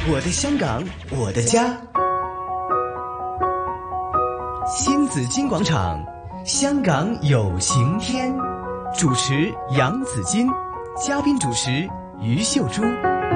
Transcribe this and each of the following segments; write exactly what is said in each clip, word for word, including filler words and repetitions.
我的香港，我的家。新紫金广场，香港有晴天。主持杨紫金，嘉宾主持于秀珠。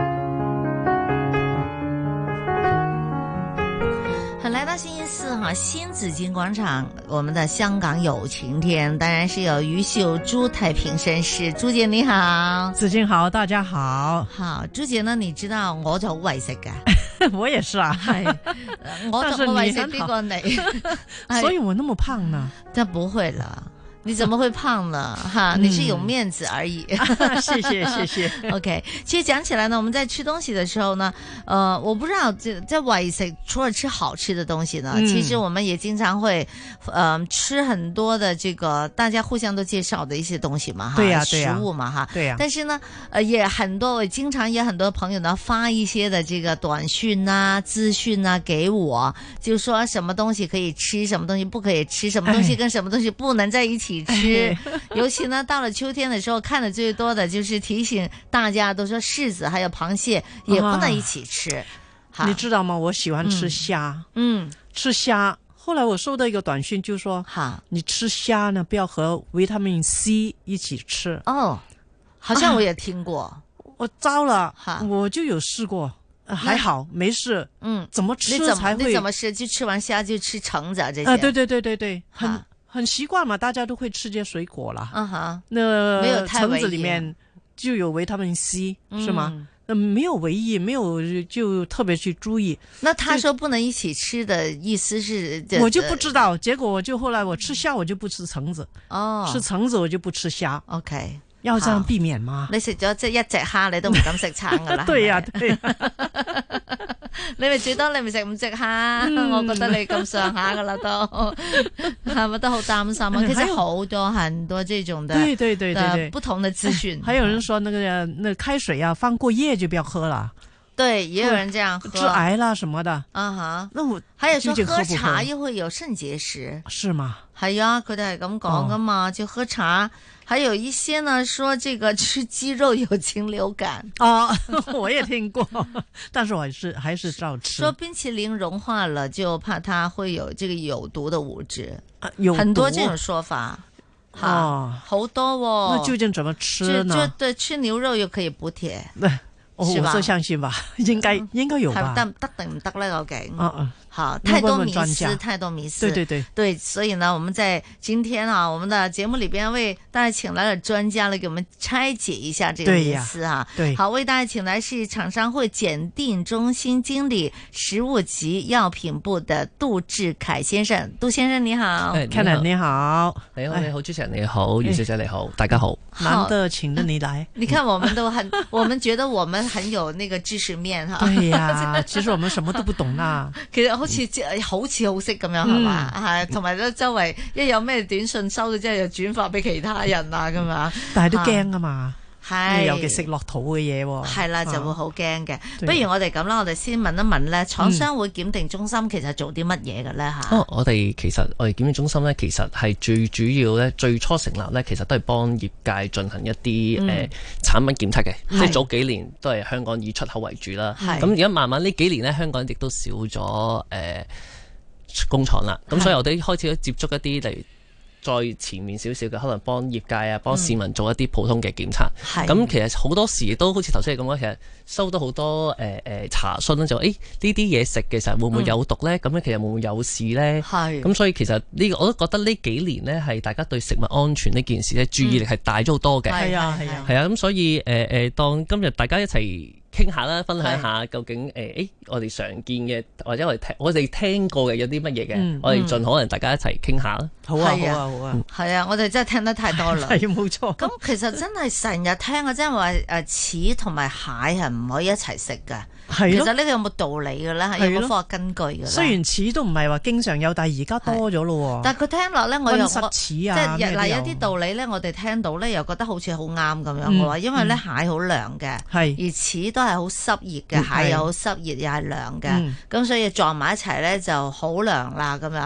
好，来到星期四哈，新紫金广场，我们的香港有晴天，当然是有于秀珠太平绅士，朱姐你好。 紫金好，大家好。 好，朱姐呢，你知道我就好為食噶。 我也是啊， 係我我為食啲過你， 所以我那麼胖呢？ 但不會啦。你怎麼會胖呢？哈，你是有面子而已。 謝謝謝謝。 OK， 其實講起來呢，我們在吃東西的時候呢，呃，我不知道在在為食，除了吃好吃的東西呢，嗯、其實我們也經常會，呃，吃很多的這個大家互相都介紹的一些東西嘛，哈， 對呀、啊、對呀、啊， 食物嘛，哈， 對呀、啊。 但是呢，呃，也很多，經常也很多朋友呢發一些的這個短訊啊、資訊啊給我，就說什麼東西可以吃，什麼東西不可以吃，什麼東西跟什麼東西不能在一起吃，尤其呢，到了秋天的時候，看的最多的就是提醒大家，都說柿子還有螃蟹也不能一起吃。 啊、你知道嗎？我喜歡吃蝦，嗯，吃蝦。後來我收到一個短訊，就說，哈，你吃蝦呢，不要和維他命 C 一起吃。 哦，好像我也聽過。 啊、我糟了，我就有試過，還好沒事。嗯，怎麼吃才會？ 你怎麼吃？就吃完蝦就吃橙子啊？這些？ 啊，對對對對對，很。很習慣嘛，大家都會吃這些水果啦。嗯哼，那沒有橙子裏面就有維他命 C，嗯、是嗎？那沒有維 E，沒有就特別去注意。 那他說不能一起吃的意思是？ 我就不知道。結果我就後來我吃蝦，我就不吃橙子。哦，吃橙子我就不吃蝦。 OK， 要這樣避免嗎？ 你食咗即係一隻蝦，你都唔敢食橙噶啦。 對呀、啊，對、啊。 你咪最多你咪食五隻蝦，嗯、我覺得你咁上下噶啦都，係咪都好擔心啊？其實好多很多這種的， 對對對對對， 不同的資訊。 還有人說那個那個、開水啊，放過夜就不要喝了。對， 也有人這樣喝， 致癌啦什麼的。啊哈，那我還有說喝茶又會有腎結石， 是嗎？ 係啊，佢哋係咁講噶嘛，就喝茶。還有一些呢，說這個吃雞肉有禽流感啊，我也聽過，但是我還是還是照吃。 說冰淇淋融化了就怕它會有這個有毒的物質， 啊、有很多這種說法，哈、啊，好多哦。 那究竟怎麼吃呢？ 就就對，吃牛肉又可以補鐵， 我我相信吧，應該應該有吧？ 得得定唔得呢？究竟？ 啊啊好，太多迷思，太多迷思。 對對對對，所以呢，我們在今天啊，我們的節目裏邊為大家請來了專家來給我們拆解一下這個迷思啊。 對， 好，為大家請來是廠商會檢定中心經理、食物及藥品部的杜志凱先生。杜先生你好 ，Ken你好， 你好你好，主持人你好，余小姐你好，大家好。 難得請得你來， 你看我們都很，我們覺得我們很有那個知識面哈。 對呀，其實我們什麼都不懂啦。 其實好似好似好識咁樣係嘛，係同埋咧周圍一有咩短信收咗之後又轉發俾其他人啊咁樣， 但係都驚啊嘛， 係尤其食落肚嘅嘢喎， 係啦就會好驚嘅。不如我哋咁啦，我哋先問一問咧，廠商會檢定中心其實做啲乜嘢嘅咧嚇？ 哦，我哋其實我哋檢定中心咧，其實係最主要咧，最初成立咧，其實都係幫業界進行一啲誒、嗯呃、產品檢測嘅，即係早幾年都係香港以出口為主啦。咁而家慢慢呢幾年咧，香港亦都少咗誒。呃工廠啦，咁所以我哋開始接觸一啲例如再前面少少嘅，可能幫業界啊、幫市民做一啲普通嘅檢查。咁、嗯、其實好多時都好似頭先你咁講，其實收到好多誒誒、呃、查詢咧，就誒呢啲嘢食嘅時候會唔會有毒咧？咁、嗯、樣其實會唔會有事咧？咁所以其實呢、這個我都覺得呢幾年咧係大家對食物安全呢件事咧注意力係大咗好多嘅。係啊係啊，係啊咁所以誒誒、呃，當今日大家一齊傾下啦，分享下究竟誒誒、欸，我哋常見嘅或者我哋聽我哋聽過嘅有啲乜嘢嘅，嗯、我哋盡可能大家一齊傾下啦。好啊，好啊，好啊， 係啊，我哋真係聽得太多啦。 係冇錯。 咁其實真係成日聽啊，即係話誒柿同埋蟹係唔可以一齊食㗎。係，其實呢個有冇道理嘅咧？係有冇科學根據嘅咧？ 雖然柿都唔係話經常有，但係而家多咗咯。 但係佢聽落咧，我又溫室柿啊， 即係嗱有啲道理咧，我哋聽到咧又覺得好似好啱咁樣嘅話，因為咧蟹好涼嘅，而柿都係好濕熱嘅，蟹又好濕熱又係涼嘅，咁所以撞埋一齊咧就好涼啦咁樣。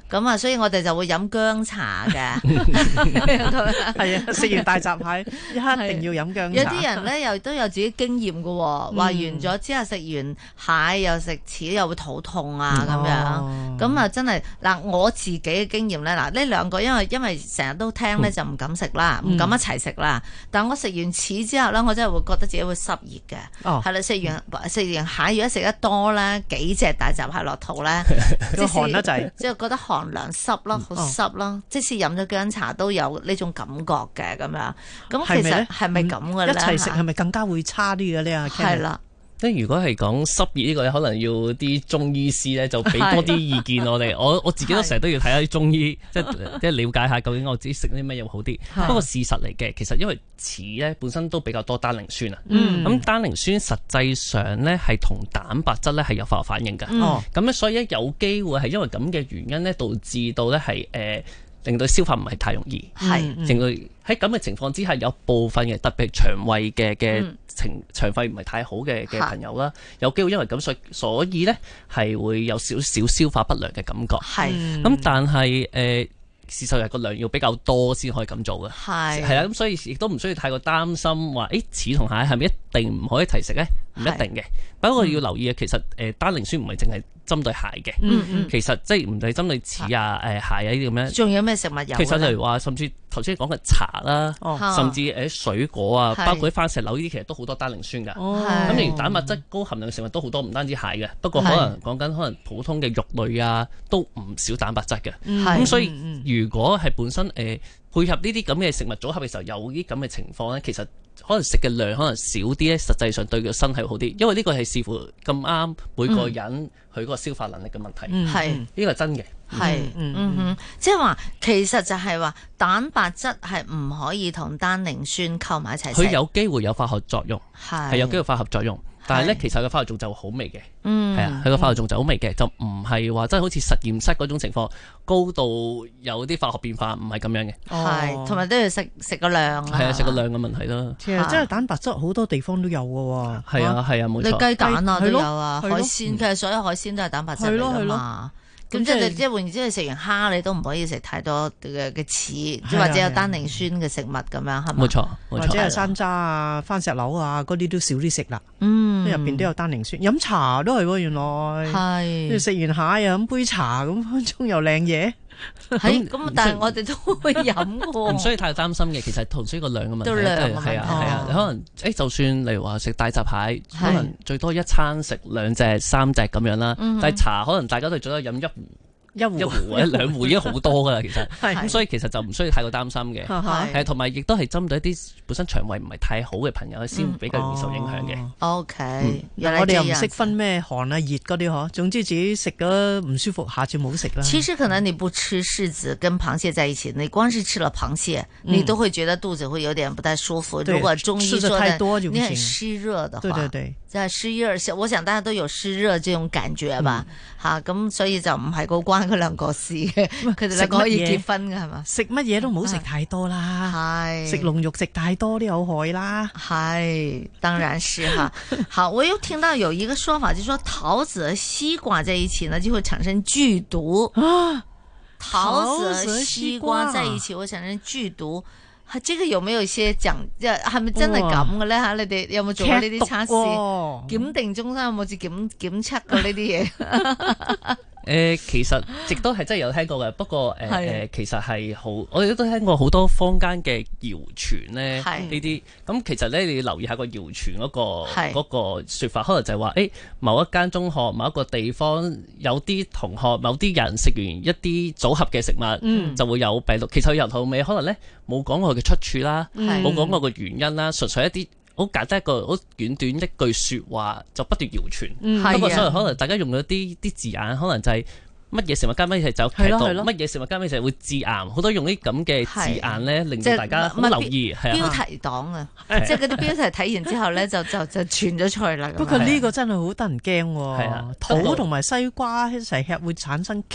咁啊，所以我哋就會飲薑茶嘅。 係啊，食完大閘蟹一定要飲薑茶。 有啲人咧又都有自己經驗嘅，話完咗之後食完蟹又食翅又會肚痛啊咁樣。咁啊真係嗱，我自己嘅經驗咧，嗱呢兩個因為因為成日都聽咧就唔敢食啦，唔敢一齊食啦。但我食完翅之後咧，我真係會覺得自己會濕熱嘅。係啦，食完食完蟹如果食得多咧，幾隻大閘蟹落肚咧，即係寒得滯，即係覺得寒涼濕咯，好濕咯。即使飲咗薑茶都有呢種感覺嘅咁樣。咁其實係咪咁嘅咧？ 一齊食係咪更加會差啲嘅呢？ 係啦。 即係如果係講濕熱呢個咧，可能要啲中醫師咧就俾多啲意見我哋。我我自己都成日都要睇下啲中醫，即係即係了解下究竟我自己食啲咩嘢好啲。不過事實嚟嘅，其實因為翅咧本身都比較多單寧酸啊。咁、嗯、單寧酸實際上咧係同蛋白質咧係有化學反應嘅。咁咧、嗯、所以咧有機會係因為咁嘅原因咧，導致到咧係誒令到消化唔係太容易。係、嗯，令到喺咁嘅情況之下，有部分嘅特別係腸胃嘅嘅情腸胃唔係太好嘅嘅朋友啦，有機會因為咁所以所以咧係會有少少消化不良嘅感覺。係，咁但係誒事實係個量要比較多先可以咁做嘅。係，係啦，咁所以亦都唔需要太過擔心話，誒翅同蟹係咪一定唔可以一齊食咧？唔一定嘅。不過要留意嘅，其實誒單寧酸唔係淨係針對蟹嘅，嗯嗯，其實即係唔係針對翅啊、誒蟹啊呢啲咁樣。仲有咩食物有？其實例如話，甚至頭先講嘅茶啦，哦、甚至誒水果啊，是包括啲番石榴呢啲，其實都好多單寧酸㗎。咁例如蛋白質高含量嘅食物都好多，唔單止蟹嘅，不過可能講緊可能普通嘅肉類啊，都唔少蛋白質嘅。咁是所以如果係本身誒、呃、配合呢啲咁嘅食物組合嘅時候，有啲咁嘅情況咧，其實可能食嘅量可能少啲咧，實際上對佢身體好啲，因為呢個係視乎咁啱每個人佢嗰個消化能力嘅問題。係呢個係真嘅。係， 嗯哼，即係話其實就係話蛋白質係唔可以同單寧酸溝埋一齊食。 佢有機會有化學作用，係係有機會化學作用。但係咧，其實個化學仲就好微嘅，係啊，佢個化學仲就好微嘅，就唔係話真係好似實驗室嗰種情況，高度有啲化學變化，唔係咁樣嘅。 係，同埋都要食食個量啊。 係啊，食個量嘅問題啦。 其實真係蛋白質好多地方都有嘅喎。 係啊，係啊，冇錯。 你雞蛋啊都有啊，海鮮其實所有海鮮都係蛋白質嚟㗎嘛。咁即係即係換言之，你食完蝦你都唔可以食太多嘅嘅翅，即或者有單寧酸嘅食物咁樣，係咪？ 冇錯， 或者係山楂啊、番石榴啊嗰啲都少啲食啦。嗯，入邊都有單寧酸。飲茶都係喎，原來係。食完蟹又飲杯茶，咁分鐘又靚嘢。 係咁，但係我哋都會飲喎。 唔需要太擔心嘅，其實同呢個量嘅問題，係啊係啊。你可能誒，就算例如話食大閘蟹，可能最多一餐食兩隻、三隻咁樣啦。但係茶可能大家都最多飲一壺。一壺一壺或者兩壺已經好多噶啦，其實咁是所以其實就唔需要太過擔心嘅，係同埋亦都係針對一啲本身腸胃唔係太好嘅朋友先比較容易受影響嘅。 O K， 我哋又唔識分咩寒啊熱嗰啲嗬，總之自己食咗唔舒服，下次冇食啦。 其實可能你不吃柿子跟螃蟹在一起，你光是吃了螃蟹，嗯、你都會覺得肚子會有點不太舒服。 對如果中醫說太多就你很濕熱的話， 對對對， 在濕熱，我想大家都有濕熱這種感覺吧，吓咁、嗯啊、所以就唔係好關佢兩個事。佢哋兩個可以結婚嘅係嘛？ 食乜嘢都唔好食太多啦，係食龍肉食太多都有害啦， 係當然是哈。好，我又聽到有一個說法，就是說桃子和西瓜在一起呢，就會產生劇毒啊。桃子和西瓜在一起會產生劇毒，係這個有沒有一些講？即係係咪真係咁嘅咧？吓，你哋有冇做過呢啲測試？檢定中心有冇去檢檢測過呢啲嘢？ 誒、呃，其實亦都係真係有聽過嘅，不過誒誒、呃，其實係好，我哋都聽過好多坊間嘅謠傳咧，呢啲咁其實咧，你要留意下個謠傳嗰個嗰是個説法，可能就係話誒，某一間中學、某一個地方有啲同學、某啲人食完一啲組合嘅食物，嗯、就會有病毒。其實由頭到尾可能咧冇講過佢嘅出處啦，冇講過個原因啦，純粹一啲。好簡單一個好短短一句説話就不斷謠傳，嗯、不過所以可能大家用咗啲啲字眼，可能就係乜嘢食物加乜嘢就有劇毒，乜嘢食物加乜嘢就會致癌，好多用啲咁嘅字眼咧，令到大家好留意。係啊，標題黨啊， 即係嗰啲標題睇完之後咧，就就就傳咗出去啦。 不過呢個真係好得人驚喎，桃同埋西瓜一齊吃會產生劇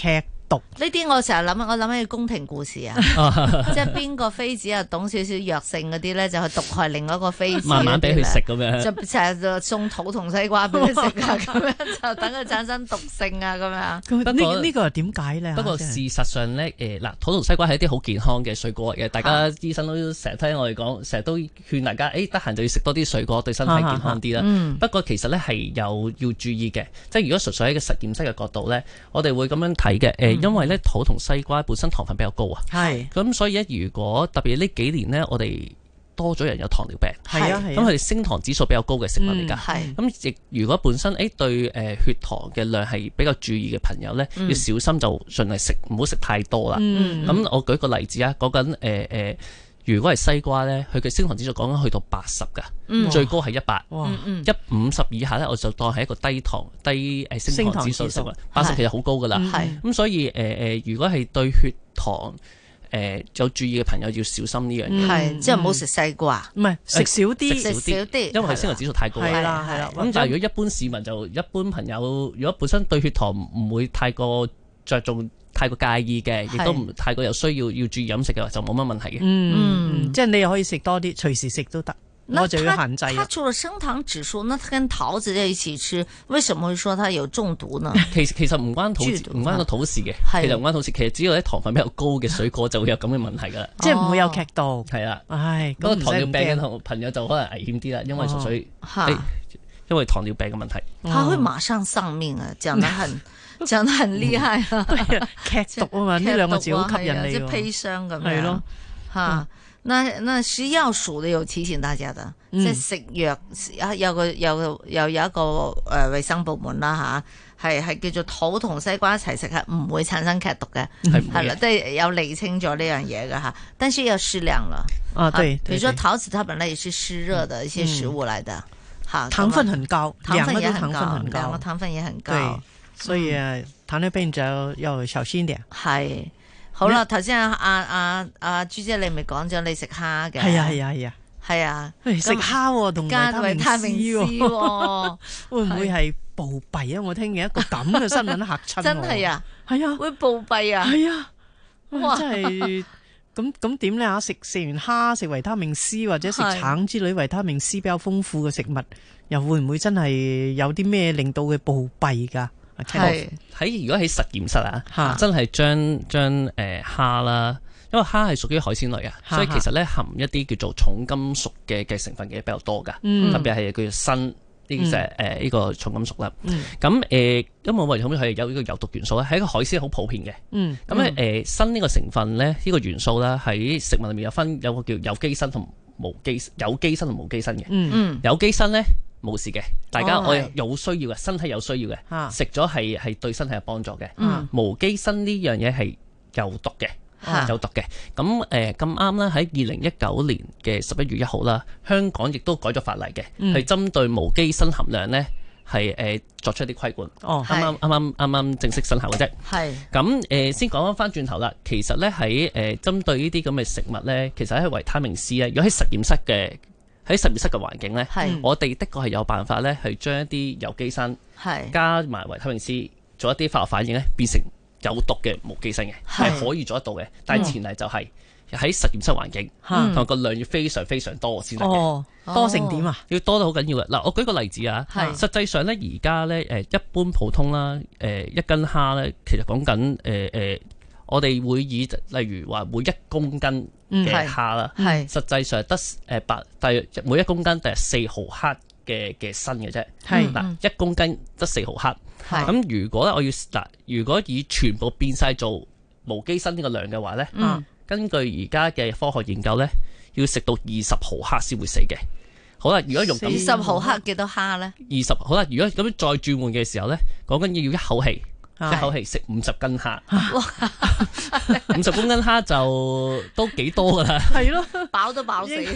毒。 呢啲我成日諗，我諗起宮廷故事啊，即係邊個妃子啊懂少少藥性嗰啲咧，就去毒害另外一個妃子， 慢慢俾佢食咁樣， 就成日就送桃同西瓜俾佢食啊，咁樣就等佢產生毒性啊，咁樣。 呢呢個係點解咧？ 不過事實上咧，誒嗱，桃同西瓜係一啲好健康嘅水果嚟嘅，大家醫生都成日聽我哋講，成日都勸大家，誒得閒就要食多啲水果，對身體健康啲啦。嗯、不過其實咧係有要注意嘅，即係如果純粹喺個實驗室嘅角度咧，我哋會咁樣睇嘅。誒、呃，因為咧桃同西瓜本身糖分比較高啊，係咁、嗯、所以咧，如果特別呢幾年咧，我哋多咗人有糖尿病，係啊，咁佢哋升糖指數比較高嘅食物嚟㗎，係咁亦如果本身誒對誒血糖嘅量係比較注意嘅朋友咧，嗯、要小心就盡量食唔好食太多啦。咁、嗯嗯、我舉個例子啊，講緊誒誒。如果係西瓜咧，佢嘅升糖指數講緊去到八十噶，嗯、最高係一百，一五十以下咧，我就當係一個低糖低誒升糖指數食物。八十其實好高噶啦，咁、嗯、所以誒誒、呃，如果係對血糖誒、呃、有注意嘅朋友要小心呢樣嘢， 係即係唔好食西瓜，唔係食少啲，食少啲， 因為佢升糖指數太高啦。係啦係啦，咁但係如果一般市民就一般朋友，如果本身對血糖唔會太過着重。太過介意嘅，亦都唔太過有需要要注意飲食嘅話，就冇乜問題嘅。 嗯，嗯即係你又可以食多啲，隨時食都得。我就要限制。 它除了升糖指數，那它跟桃子在一起吃，為什麼會說它有中毒呢？ 其實其實唔關桃唔關個桃事嘅，其實唔關桃事。其實只要啲糖分比較高嘅水果就會有咁嘅問題噶啦， 即係唔會有劇毒。 係啦， 唉， 嗰個糖尿病嘅朋友就可能危險啲啦，因為純粹因為糖尿病嘅問題， 他會馬上喪命啊！講得很。講得很厲害啊！ 劇毒啊嘛，呢兩個字好吸引你， 即係砒霜咁樣。係咯，吓，那那食藥署都有提醒大家的，即係食藥有個有又有一個誒衛生部門啦吓，係係叫做桃同西瓜一齊食係唔會產生劇毒嘅，係啦，即係有釐清咗呢樣嘢嘅吓，但是要適量啦。 啊，對， 比如說桃子，它本來也是濕熱的一些食物嚟的，吓， 糖分很高， 糖分也很高， 兩個糖分也很高。 所以啊，糖尿病就要小心啲。 係，好啦，頭先阿阿阿阿朱姐你咪講咗你食蝦嘅。 係啊係啊係啊， 係啊， 食蝦同維他命 C， 會唔會係暴斃啊？我聽見一個咁嘅新聞嚇親我。 真係啊， 係啊， 會暴斃啊。 係啊，哇，真係咁咁點咧嚇？食食完蝦食維他命 C 或者食橙之類維他命 C 比較豐富嘅食物，又會唔會真係有啲咩令到佢暴斃㗎？ 係喺如果喺實驗室啊，哈真係將將誒蝦啦，因為蝦係屬於海鮮類啊，哈所以其實咧含一啲叫做重金屬嘅嘅成分嘅比較多噶，嗯、特別係叫做砷呢隻誒呢個重金屬啦。咁誒、嗯呃，因為我哋後面係有呢個有毒元素咧，係一個海鮮好普遍嘅。咁咧誒砷呢個成分咧，呢、這個元素咧喺食物裏面有分有個叫有機砷同無機有機砷同無機砷嘅。嗯、有機砷咧。冇事嘅，大家我有需要嘅，身體有需要嘅，食咗係係對身體有幫助嘅。嗯、無機砷呢樣嘢係有毒嘅，啊、有毒嘅。咁誒咁啱啦，喺二零一九年嘅十一月一號啦，香港亦都改咗法例嘅，係、嗯、針對無機砷含量咧係誒作出一啲規管。哦，啱啱啱啱啱啱正式生效嘅啫。係咁誒，先講翻翻轉頭啦。其實咧喺誒針對呢啲咁嘅食物咧，其實喺維他命 C 咧，如果喺實驗室嘅。喺實驗室嘅環境咧，是我哋的確係有辦法咧，係將一啲有機砷是加埋維他命 C 做一啲化學反應咧，變成有毒嘅無機砷嘅，係是可以做得到嘅。但係前提就係喺實驗室環境，同埋個量要非常非常多先得嘅。 哦，多成點啊？ 要多得好緊要嘅。嗱，我舉個例子啊，是實際上咧，而家咧誒一般普通啦，誒一斤蝦咧，其實講緊誒誒，我哋會以例如話每一公斤嘅蝦啦，係、嗯、實際上得誒八，大約每一公斤大約四毫克嘅嘅砷嘅啫。係嗱，一公斤得四毫克。係咁是，如果咧我要嗱，如果以全部變晒做無機砷呢個量嘅話咧，嗯、根據而家嘅科學研究咧，要食到二十毫克先會死嘅。好啦，如果用二十毫克幾多蝦咧？ 二十好啦，如果咁樣再轉換嘅時候咧，講緊要一口氣。一口氣食五十斤蝦，五十公斤蝦就都幾多噶啦， 係咯，飽都飽死。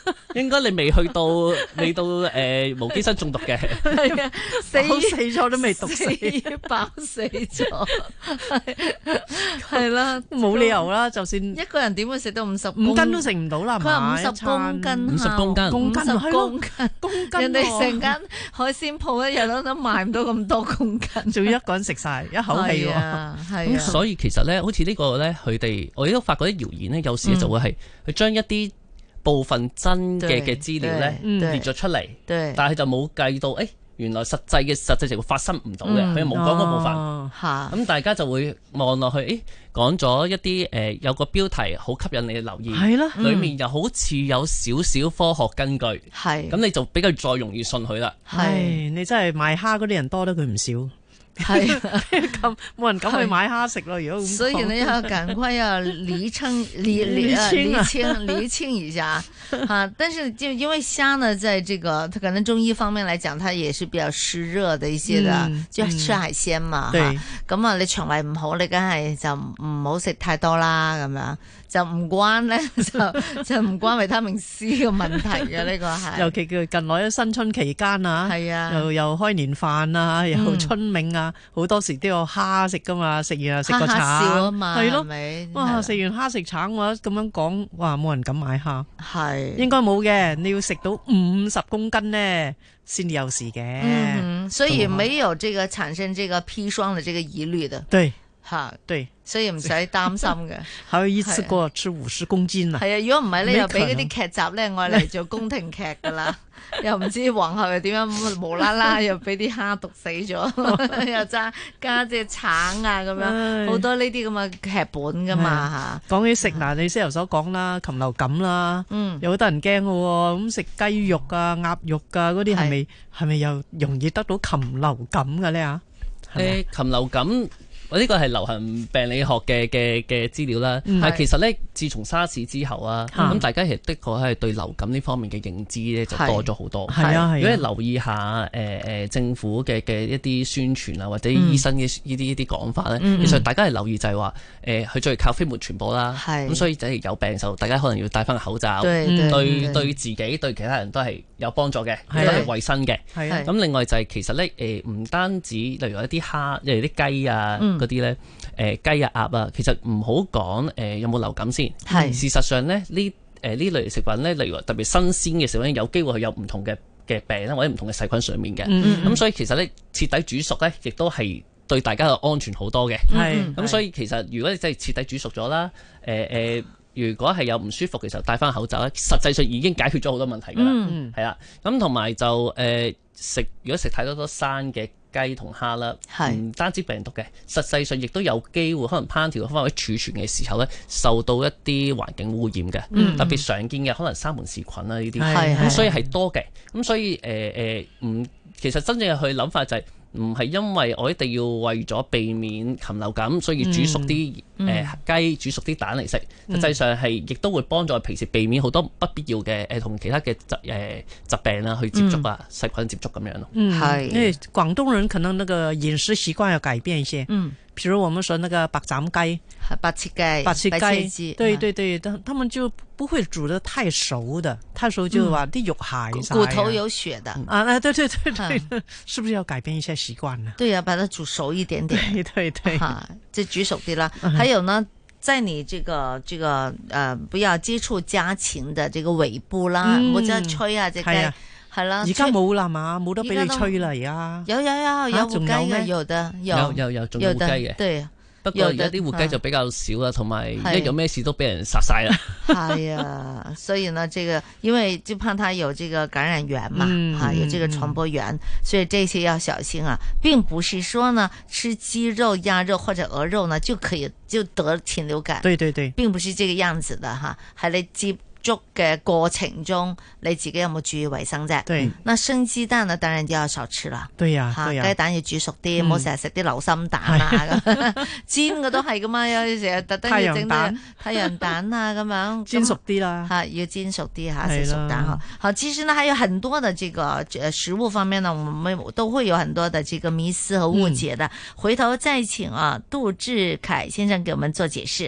應該你未去到未到誒、呃、無機砷中毒嘅， 係啊，死死咗都未毒死， 飽死咗，係啦， 冇理由啦，就算一個人點會食到五十五斤都食唔到啦， 佢話五十公斤， 五十公斤， 公斤， 公斤， 公斤， 人哋成間海鮮鋪一日都都賣唔到咁多公斤， 仲要一個人食晒一口氣喎， 係啊， 所以其實咧，好似呢個咧，佢哋我亦都發覺啲謠言咧，有時就會係佢將一啲部分真嘅嘅資料咧列咗出嚟，但係就冇計到，誒，原來實際嘅實際情況發生唔到嘅，佢又冇講嗰部分，咁大家就會望落去，誒，講咗一啲誒有個標題好吸引你嘅留意，係啦，裡面又好似有少少科學根據，係，咁你就比較再容易信佢啦。 係，你真係賣蝦嗰啲人多得佢唔少。係咁冇人敢去買蝦食咯，如果咁， 所以呢要趕快要釐清、釐釐啊、釐清、釐清一下啊！但是就因為蝦呢，在這個它可能中醫方面來講，它也是比較濕熱的一些的，嗯、就吃海鮮嘛。咁、嗯、啊，你腸胃唔好，你梗係就唔好食太多啦，咁樣。就唔關咧，就就唔關維他命 C 嘅問題嘅呢個係。尤其佢近來新春期間啊，係啊，又又開年飯啊，又春茗啊，好、嗯、多時都有蝦食噶嘛，食完又食個橙，係咯，哇！食完蝦食橙嘅話咁樣講，哇！冇人敢買蝦，係應該冇嘅，你要食到五十公斤呢先有事嘅、 嗯，所以沒有這個產生這個砒霜的這個疑慮的。 對。 吓， 對， 所以唔使擔心嘅。 還有一次過吃五十公斤啊！ 係啊，如果唔係咧，又俾嗰啲劇集咧，我嚟做宮廷劇噶啦，又唔知皇后又點樣無啦啦又俾啲蝦毒死咗，又加加隻橙啊咁樣，好多呢啲咁嘅劇本噶嘛吓。講起食嗱，你先頭所講啦，禽流感啦，嗯，有好多人驚嘅喎，咁食雞肉啊、鴨肉啊嗰啲係咪係咪又容易得到禽流感嘅咧啊？誒，禽流感。我呢個係流行病理學嘅嘅嘅資料啦，但係其實咧，自從沙士之後啊，咁大家其實的確係對流感呢方面嘅認知咧就多咗好多。係啊，如果你留意下誒誒政府嘅嘅一啲宣傳啊，或者醫生嘅呢啲呢啲講法咧，其實大家係留意就係話誒，佢最靠飛沫傳播啦，咁所以就係有病時候，大家可能要戴翻個口罩，對對自己對其他人都係有幫助嘅，都係衞生嘅。咁另外就係其實咧誒，唔單止例如一啲蝦，例如啲雞啊。嗰啲咧，誒雞啊鴨啊，其實唔好講誒有冇流感先。係事實上咧，呢誒呢類食品咧，例如話特別新鮮嘅食品，有機會係有唔同嘅嘅病啦，或者唔同嘅細菌上面嘅。咁、嗯嗯、所以其實咧，徹底煮熟咧，亦都係對大家嘅安全好多嘅。係咁，所以其實如果你真係徹底煮熟咗啦，誒、呃、誒、呃，如果係有唔舒服嘅時候戴翻口罩咧，實際上已經解決咗好多問題㗎啦。嗯，係啦。咁同埋就誒、呃、食，如果食太多多生嘅雞同蝦啦，唔單止病毒嘅，實際上亦都有機會可能烹調嘅方法或者儲存嘅時候咧，受到一啲環境污染嘅、嗯，特別常見嘅可能沙門氏菌啦呢啲，咁所以係多嘅，咁所以誒誒唔，其實真正去諗法就係、是。唔係因為我一定要為咗避免禽流感，所以煮熟啲誒、嗯呃、雞煮熟啲蛋嚟食。實際上係亦都會幫助平時避免好多不必要嘅誒同其他嘅疾誒、呃、疾病啦去接觸啊，細、嗯、菌接觸咁樣咯。嗯，係，因為廣東人可能那個飲食習慣要改變一些。嗯。譬如我們說那個白斬雞，白切雞，白切雞，對對對，他他們就不會煮得太熟的，太熟就話啲肉蟹晒、啊，骨頭有血的啊！啊，對對對對，嗯、是不是要改變一下習慣呢？對啊，把它煮熟一點點，對對對，哈，就煮熟啲啦。還有呢，在你這個這個呃不要接觸家禽的這個尾部啦，唔好再吹啊隻雞。係啦，而家冇啦嘛，冇得俾你吹啦，而家有有有有活雞嘅，有的有有有仲有活雞嘅，對，不過而家啲活雞就比較少啦，同埋一有咩事都俾人殺晒啦。係啊，所以呢，這個因為就怕它有這個感染源嘛，嗯、啊有這個傳播源、嗯，所以這些要小心啊，並不是說呢吃雞肉、鴨肉或者鵝肉呢就可以就得禽流感。對對對，並不是這個樣子的哈，係你接觸嘅過程中，你自己有冇注意衛生啫？對，那生雞蛋呢，當然就要少吃啦。對呀、啊，雞、啊、蛋要煮熟啲，唔好成日食啲流心蛋啊咁。煎嘅都係噶嘛，有時成日特登要整啲太陽蛋啊咁樣。煎熟啲啦，吓要煎熟啲吓，食熟蛋嗬。好，其實呢，還有很多的這個食物方面呢，我們都會有很多的這個迷思和誤解的。嗯、回頭再請啊杜志凱先生給我們做解釋。